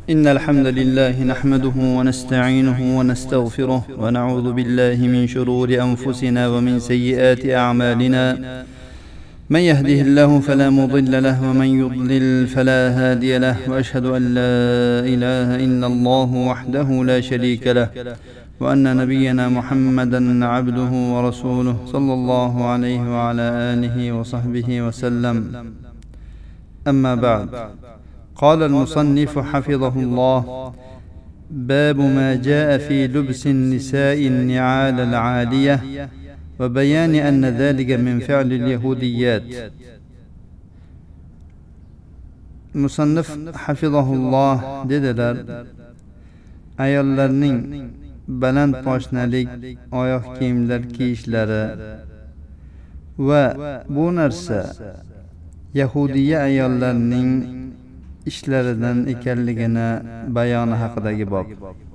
إن الحمد لله نحمده ونستعينه ونستغفره ونعوذ بالله من شرور أنفسنا ومن سيئات أعمالنا. من يهده الله فلا مضل له ومن يضلل فلا هادي له، وأشهد أن لا إله إلا الله وحده لا شريك له، وأن نبينا محمدا عبده ورسوله صلى الله عليه وعلى آله وصحبه وسلم. أما بعد، قال المصنف حفظه الله: باب ما جاء في لبس النساء النعال العالية وبيان أن ذلك من فعل اليهوديات. Musannif hafizahulloh dedilar: ayollarning baland poshnalik oyoq kiyimlar kiyishlari va bu narsa yahudiya ayollarning ishlaridan ekanligini bayoni haqidagi bob.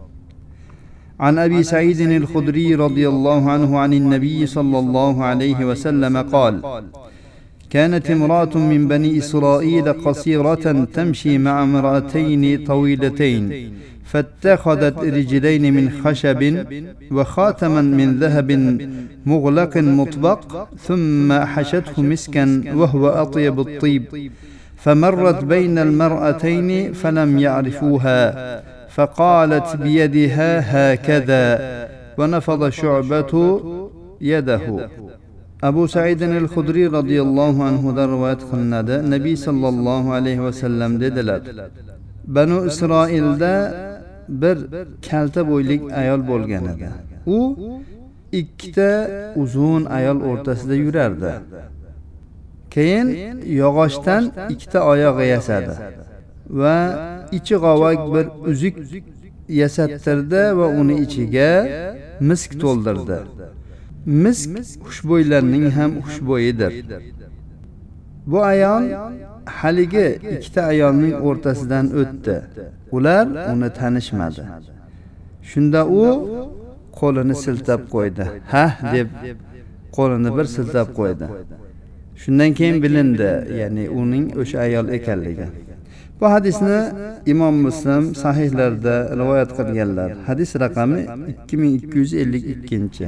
عن أبي سعيد الخدري رضي الله عنه عن النبي صلى الله عليه وسلم قال: كانت امرأة من بني إسرائيل قصيرة تمشي مع امرأتين طويلتين، فاتخذت رجلين من خشب وخاتما من ذهب مغلق مطبق، ثم حشته مسكا وهو أطيب الطيب، فمرت بين المرأتين فلم يعرفوها، فقالت بيدها هكذا، ونفض شعبة يده. أبو سعيد الخدري رضي الله عنه رواية قلنده نبي صلى الله عليه وسلم dedilar: Banu Isroilda bir kalta bo'ylik ayol bo'lgan edi. U ikkita uzun ayol o'rtasida yurardi. Keyin yog'ochdan ikkita oyoq yasadi va ichi g'ovak bir uzuk yasattirdi va uni ichiga misk to'ldirdi. Misk xushbo'ylarning ham xushbo'yidir. Bu ayol haligi ikkita ayolning o'rtasidan o'tdi. Ular uni tanishmadi. Shunda u qo'lini siltab qo'ydi. "Ha" deb qo'lini bir siltab qo'ydi. Shundan keyin bilindi, ya'ni uning o'sha ayol ekanligi. Bu hadisni Imom Muslim sahihlarida rivoyat qilganlar. Hadis raqami 2252.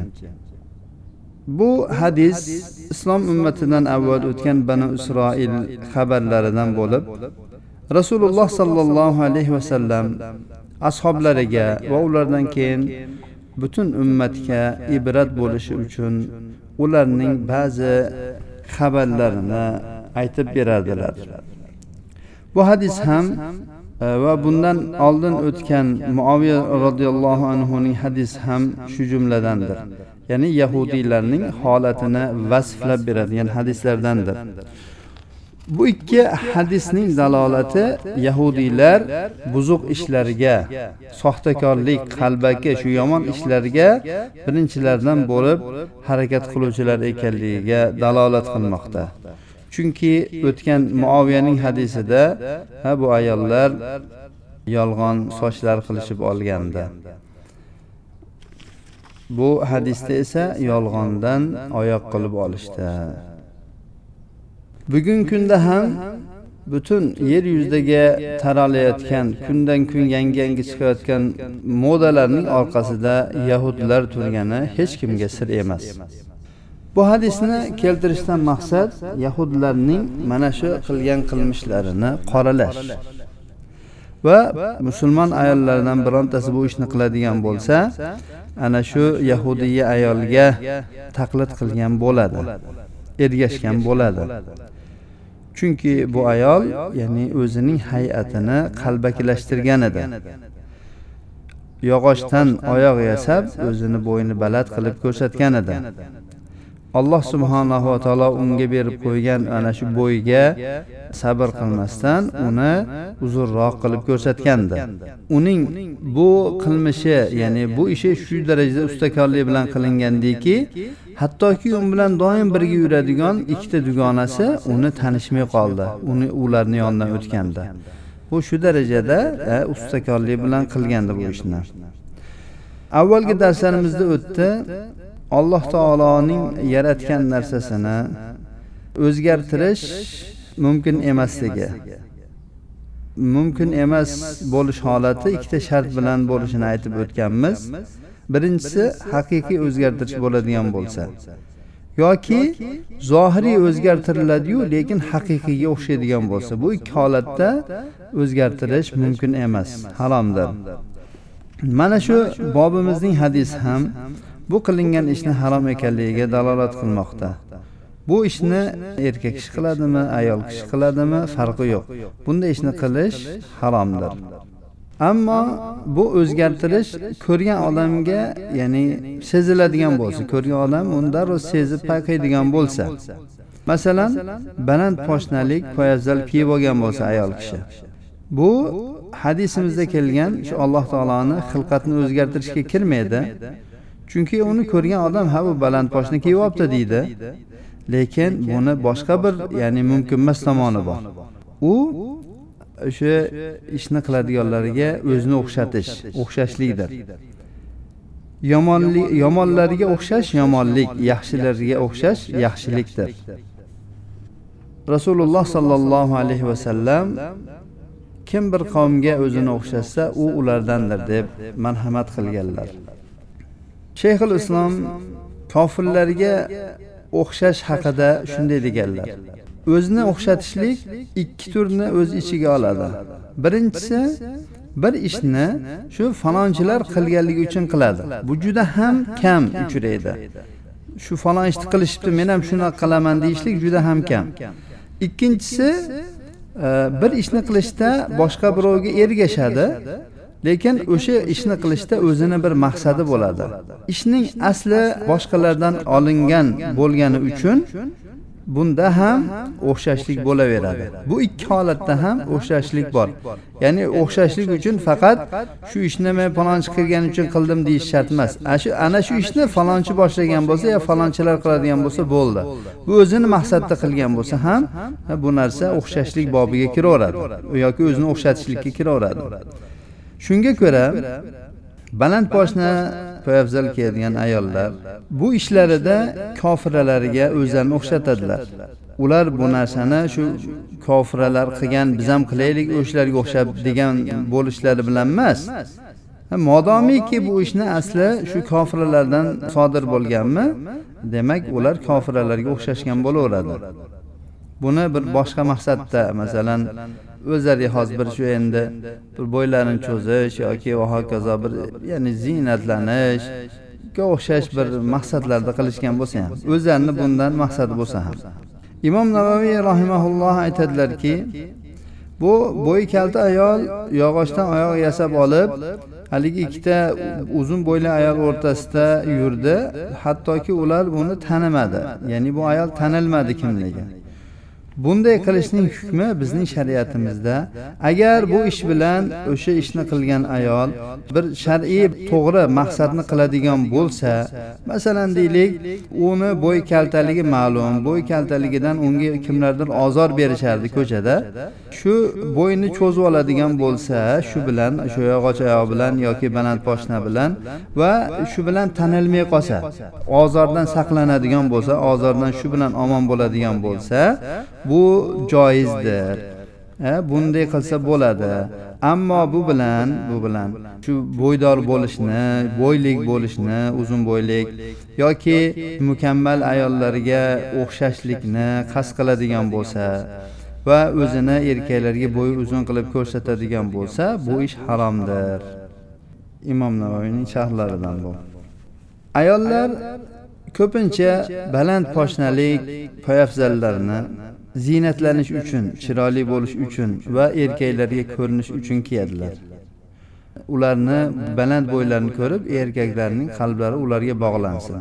Bu hadis islom ummatidan avval o'tgan Banu Isroil xabarlaridan bo'lib, Rasululloh sallallohu alayhi vasallam ashablariga va ulardan keyin butun ummatga ibrat bo'lishi uchun ularning ba'zi xabarlarini aytib beradilar. Bu hadis ham va bundan oldin o'tgan Muaviya radhiyallohu anhuning hadis ham shu jumladandir. Ya'ni yahudiylarning holatini vasflab beradigan hadislardandir. Bu ikki hadisning dalolati yahudiylar buzuq ishlarga, soxtakorlik, qalbaki shu yomon ishlarga birinchilardan bo'lib harakat qiluvchilar ekanligiga dalolat qilmoqda. Chunki o'tgan Muaviyaning hadisida bu ayollar yolg'on sochlar qilishib olganda. Bu hadisda esa yolg'ondan oyoq qilib olishdi. Bugungi kunda ham butun yer yuzidagi taralayotgan, kundan kun yangi chiqayotgan modalarning orqasida yahudlar turgani hech kimga sir emas. Bu hadisni keltirishdan maqsad yahudlarning mana shu qilgan qilmishlarini qoralash. Va musulmon ayollardan birontasi bu ishni qiladigan bo'lsa, ana shu yahudiy ayolga taqlid qilgan bo'ladi, ergashgan bo'ladi. Chunki bu ayol, ya'ni o'zining hay'atini qalbakilashtirgan edi. Yog'ochdan oyoq yasab, o'zini bo'yni baland qilib ko'rsatgan edi. Alloh subhanahu va taolo unga berib qo'ygan ana shu bo'yga sabr qilmasdan uni uzunroq qilib ko'rsatgandi. Uning bu qilmishi, ya'ni bu ishi shu darajada ustakorlik bilan qilingandiki, hattoki u bilan doim birga yuradigan ikkita dugonasi uni tanishmay qoldi. Ularning yonidan o'tganda. Bu shu darajada ustakorlik bilan qilgandi bu ishni. Avvalgi darslarimizda o'tdi. Alloh taoloning yaratgan narsasini o'zgartirish mumkin emasligi. mumkin emas bo'lish holati ikkita shart bilan bo'lishini aytib o'tganmiz. Birinchisi haqiqiy o'zgartirish bo'ladigan bo'lsa yoki zohiriy o'zgartiriladi-yu, lekin haqiqiyga o'xshaydigan bo'lsa, bu ikki holatda o'zgartirish mumkin emas, haromdir. Mana shu bobimizning hadisi ham bu qilingan ishni harom ekanligiga dalolat qilmoqda. Bu ishni erkak kishi qiladimi, ayol kishi qiladimi, farqi yo'q. Bunday ishni qilish haromdir. Ammo bu o'zgartirish ko'rgan odamga, ya'ni seziladigan bo'lsa, ko'rgan odam unda sezib payqaydigan bo'lsa, masalan, baland poshnalik, poyafzal kiyib olgan bo'lsa ayol kishi. Bu hadisimizda kelgan shu Alloh taoloning xilqatni o'zgartirishga kirmaydi. Chunki uni ko'rgan odam ha bu baland poshna kiyib olibdi deydi. Lekin buni boshqa bir, ya'ni mumkin emas tomoni bor. U o'sha ishni qiladiganlarga o'zini o'xshashlikdir. Yomonlarga o'xshash yomonlik, yaxshilarga o'xshash yaxshilikdir. Rasululloh sallallohu alayhi va sallam kim bir qavmga o'zini o'xshasa, u ulardandir deb marhamat qilganlar. Shayxul Islom kofirlarga o'xshash haqida shunday deganlar. O'zini o'xshatishlik ikki turni o'z ichiga oladi. Birinchisi, bir ishni shu falonchilar qilganligi uchun qiladi. Bu juda ham kam uchraydi. Shu falon ishni qilishibdi, men ham shuni qilaman deyishlik juda ham kam. Ikkinchisi, bir ishni qilishda boshqa birovga ergashadi, lekin o'sha ishni qilishda o'zini bir maqsadi bo'ladi. Ishning asli boshqalardan olingan bo'lgani uchun bunda ham o'xshashlik bo'laveradi. Bu ikki holatda ham o'xshashlik bor. Ya'ni o'xshashlik uchun faqat shu ishni men falonchi qilgani uchun qildim deyish shart emas. Ana shu ishni falonchi boshlagan bo'lsa yo falonchilar qiladigan bo'lsa bo'ldi. Bu o'zini maqsadda qilgan bo'lsa ham bu narsa o'xshashlik bobiga kiraveradi yoki o'zini o'xshatishlikka kiraveradi. Shunga ko'ra baland poshna poyafzal kiyadigan ayollar bu ishlarida kofiralarga o'zlarini o'xshatadilar. Ular bu narsani shu kofiralar qilgan, biz ham qilaylik o'shalarga o'xshab degan bo'lishlari bilan emas. Modomiki bu ishni asli shu kofiralardan sodir bo'lganmi, demak ular kofiralarga o'xshashgan bo'laveradi. Buni bir boshqa maqsadda, masalan, o'zlariga xos bir shu endi bir bo'ylarini cho'zish yoki va hokazo bir, ya'ni ziynatlanish ga o'xshash bir maqsadlarda qilishgan bo'lsa ham, o'zlarini bundan maqsadi bo'lsa ham. Imom Navoiy rahimahulloh aytadilarki, bu bo'yi kalta ayol yog'ochdan oyoq yasab olib, haligi ikkita uzun bo'yli ayol o'rtasida yurdi, hattoki ular buni tanimadi. Ya'ni bu ayol tanilmadi kimligi. Bunday qilishning hukmi bizning shariatimizda, agar bu ish bilan o'sha ishni qilgan ayol bir shar'iy to'g'ri maqsadni qiladigan bo'lsa, masalan deylik, uni bo'y kaltaligi ma'lum, bo'y kaltaligidan unga kimlardir ozor berishardi ko'chada, shu bo'yni cho'zib oladigan bo'lsa, shu bilan, shu yog'och oyoq bilan yoki baland poshna bilan va shu bilan tanilmay qolsa, ozordan saqlanadigan bo'lsa, ozordan shu bilan omon bo'ladigan bo'lsa, bu joizdir. Bunday qilsa bo'ladi. Ammo bu bilan shu bo'ydor bo'lishni, bo'ylik bo'lishni, uzun bo'ylik yoki mukammal ayollarga o'xshashlikni qasd qiladigan bo'lsa va o'zini erkaklarga bo'yi uzun qilib ko'rsatadigan bo'lsa, bu ish haromdir. Imom Navoiyning sharhlaridan bu. Ayollar ko'pincha baland poshnalik poyafzallarni ziynatlanish uchun, chiroyli bo'lish uchun va erkaklarga ko'rinish uchun kiyadilar. Ularni baland bo'ylarini ko'rib, erkaklarning qalblari ularga bog'lansin.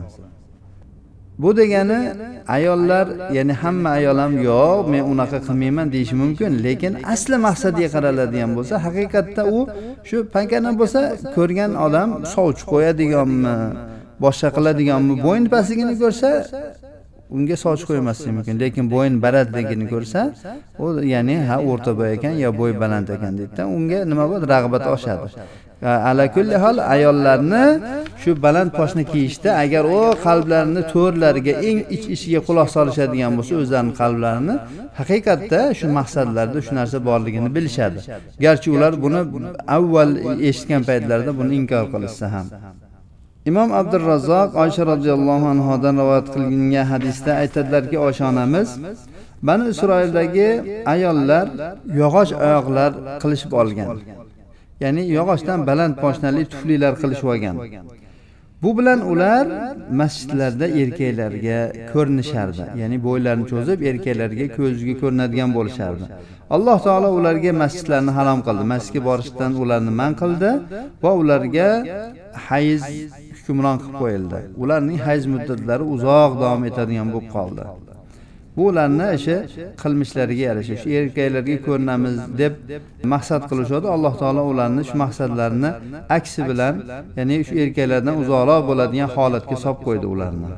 Bu degani ayollar, ya'ni hamma ayol ham yo'q, men unaqa qilmayman deyishi mumkin, lekin asli maqsadiga qaraladigan bo'lsa, haqiqatda u shu pankadan bo'lsa, ko'rgan odam sovchi qo'yadiganmi, boshqa qiladiganmi, bo'yin pastligini ko'rsa unga soch qo'ymasligi mumkin, lekin bo'yin balandligini ko'rsa, u ya'ni o'rta bo'y ekan yo bo'y baland ekan deydi, unga nima bo'ladi, rag'bat oshadi. Ala kulli hol ayollarni shu baland poshna kiyishda agar o qalblarini to'rlariga eng ichiga quloq solishadigan bo'lsa, o'zlarining qalblarini haqiqatda shu maqsadlarda shu narsa borligini bilishadi. Garchi ular buni avval eshitgan paytlarida buni inkor qilishsa ham. Imom Abdurrazzoq Oysha radhiyallohu anhodan rivoyat qilingan hadisda aytadilarki, Oysha onamiz Bani Isroildagi ayollar yog'och oyoqlar qilishib olgan. Ya'ni yog'ochdan baland poshnali tuflilar qilishib olgan. Bu bilan ular masjidlarda erkaklarga ko'rinishardi. Ya'ni bo'ylarini cho'zib erkaklarga ko'ziga ko'rinadigan bo'lishardi. Alloh taolo ularga masjidlarni harom qildi. Masjidga borishdan ularni man qildi va ularga hayz hukmron qilib qo'yildi. Ularning hayz muddatlari uzoq davom etadigan bo'lib qoldi. Bu ularni qilmishlariga yarasha shu erkaklarga ko'rinamiz deb maqsad qilishadi. Alloh taolo ularni shu maqsadlarini aksi bilan, ya'ni shu erkaklardan uzoqroq bo'ladigan holatga solib qo'ydi ularni.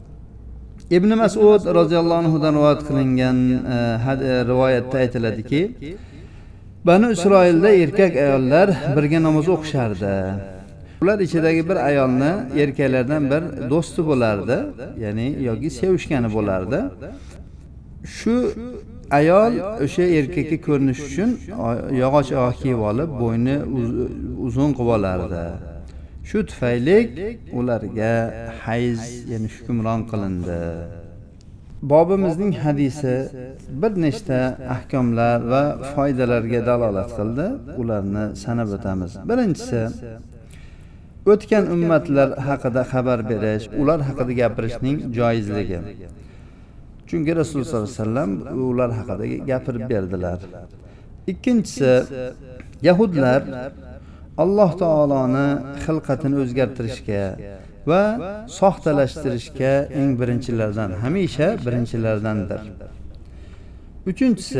Ibn Mas'ud roziyallohu anhu dan rivoyat qilingan rivoyatda aytiladiki, Bani Isroilda erkak ayollar birga namoz o'qishardi. Ular ichidagi bir ayolni erkaklardan bir do'sti bo'lardi, ya'ni yoki sevishgani bo'lardi. Shu ayol o'sha erkakka ko'rinish uchun yog'och oyoq kiyib olib, bo'yni uzun qilib olardi. Shu tufayli ularga hayz, ya'ni hukmron qilindi. Bobimizning hadisi bir nechta ahkomlar va foydalarga dalolat qildi. Ularni sanab o'tamiz. Birinchisi, o'tgan ummatlar haqida xabar berish, ular haqida gapirishning joizligi. Chunki Rasululloh sollallohu alayhi vasallam ular haqida gapirib berdilar. Ikkinchisi, Yahudlar Alloh taoloni xilqatini o'zgartirishga va soxtalashtirishga eng birinchilardan, hamisha birinchilardandir. Uchinchisi,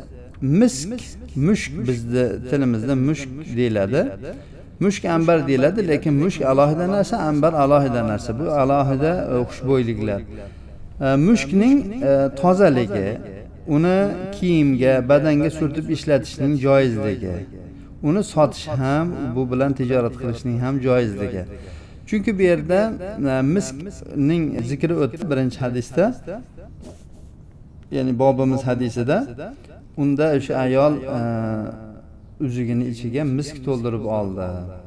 mushk bizning tilimizda mushk deyiladi. Mushk ambar deyiladi, lekin mushk alohida narsa, ambar alohida narsa. Bu alohida xushbo'yliklar. Mushkning tozaligi, uni kiyimga, badanga surtib ishlatishning joizligi, uni sotish ham, bu bilan tijorat qilishning ham joizligi. Chunki bu yerda miskning zikri o'tdi birinchi hadisda, ya'ni bobimiz hadisida, unda o'sha ayol uzigining ichiga misk to'ldirib oldi.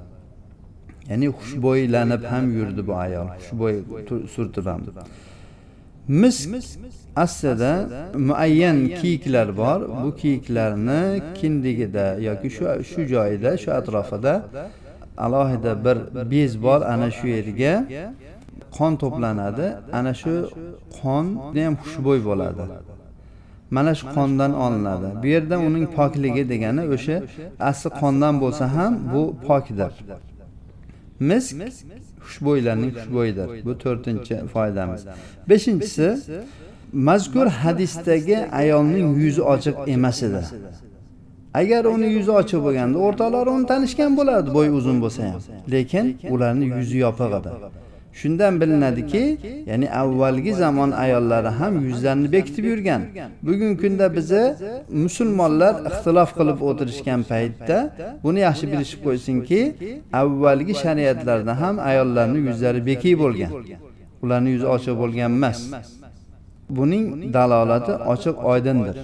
Ya'ni xushbo'ylanib ham yurdi bu ayol, xushbo'y surtib ham. Misk aslida muayyan kiyiklar bor. Bu kiyiklarni kindigida yoki shu joyida, shu atrofida alohida bir bez bor, ana shu yerga qon to'planadi. Ana shu qon ham xushbo'y bo'ladi. Mana shu qondan olinadi. Bu yerda uning pokligi degani o'sha asli qondan bo'lsa ham bu pokdir. Misk xushbo'ylarning xushbo'yidir. Bu 4-foydamiz. 5-si, mazkur hadisdagi ayolning yuzi ochiq emas edi. Agar uni yuzi ochiq bo'lganda, o'rtoqlari uni tanishgan bo'lardi, bo'y uzun bo'lsa ham. Lekin ularning yuzi yopiq edi. Shundan bilinadiki, ya'ni avvalgi zamon ayollari ham yuzlarini bekitib yurgan. Bugungi kunda bizni musulmonlar ixtilof qilib o'tirishgan paytda buni yaxshi bilishib qo'ysinki, avvalgi shariatlarda ham ayollarning yuzlari bekiy bo'lgan. Ularning yuzi ochiq bo'lgan emas. Buning dalolati ochiq oydindir.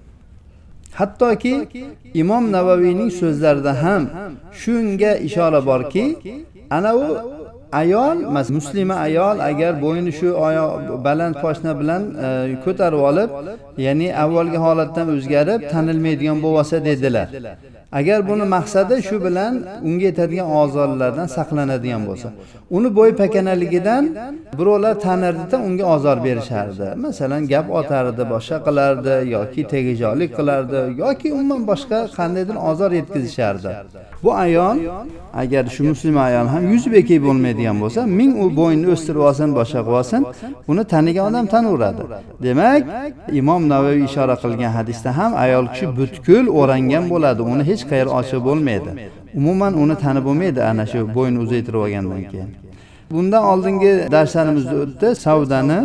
Hattoki Imom Navaviyning so'zlarida ham shunga ishora borki, ana u ayol, muslima ayol agar bo'yni shu baland poshna bilan ko'tarib olib, ya'ni avvalgi holatdan o'zgarib tanilmaydigan bo'lsa dedilar. Agar buni maqsadi shu bilan unga yetadigan ozorlardan saqlanadigan bo'lsa, uni bo'y pakanaligidan birovlar tanirdi-da unga ozor berishardi. Masalan, gap otardi, boshqa qilardi yoki tegijolik qilardi yoki umuman boshqa qandaydir ozor yetkazishardi. Bu ayol agar shu muslima ayol ham yuzi bekiy bo'lmaydigan bo'lsa, ming u bo'yni o'stirib olsin, boshqa qilib olsin, uni tanigan odam tanaveradi. Demak, Imom Navoiy ishora qilgan hadisda ham ayol kishi butkul o'rangan bo'ladi, uni hech qayer ochiq bo'lmaydi. Umuman uni tanib bo'lmaydi ana shu bo'yni uzaytirib olgandan keyin. Bundan oldingi darslarimizda o'tdi savdani.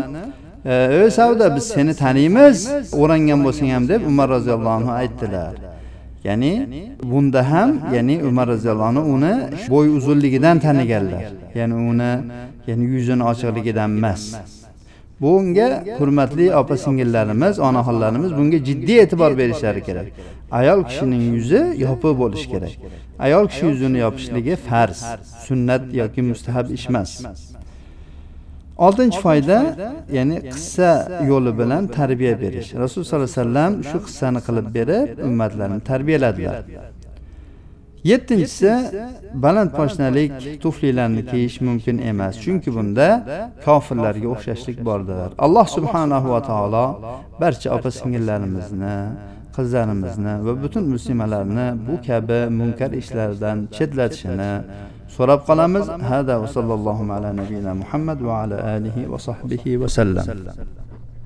Savda, biz seni taniymiz, o'rangan bo'lsang ham deb Umar roziyallohu anhu aytdilar. Ya'ni bunda ham, ya'ni Umar roziyallohu anhu uni bo'y uzunligidan taniganlar. Ya'ni uni, ya'ni yuzining ochiqligidan emas. Bunga hurmatli opa-singillarimiz, onaxonlarimiz bunga jiddiy e'tibor berishlari kerak. Ayol kishining yuzi yopiq bo'lishi kerak. Ayol kishi yuzini yopishligi farz, sunnat yoki mustahab ish emas. 6-chi foyda, ya'ni qissa yo'li bilan tarbiya berish. Rasul sollallohu alayhi vasallam shu qissani qilib berib, ummatlarni tarbiyaladilar. 7-chisi, baland poshnalik tuflilarni kiyish mumkin emas, chunki bunda kofirlarga o'xshashlik bordir. Alloh subhanahu va taolo barcha opa-singillarimizni, qizlarimizni va butun muslimalarni bu kabi munkar ishlardan chetlatishini so'rab qolamiz. Hada va sallallohu ala nabiyina Muhammad va ala alihi va sahbihi va sallam.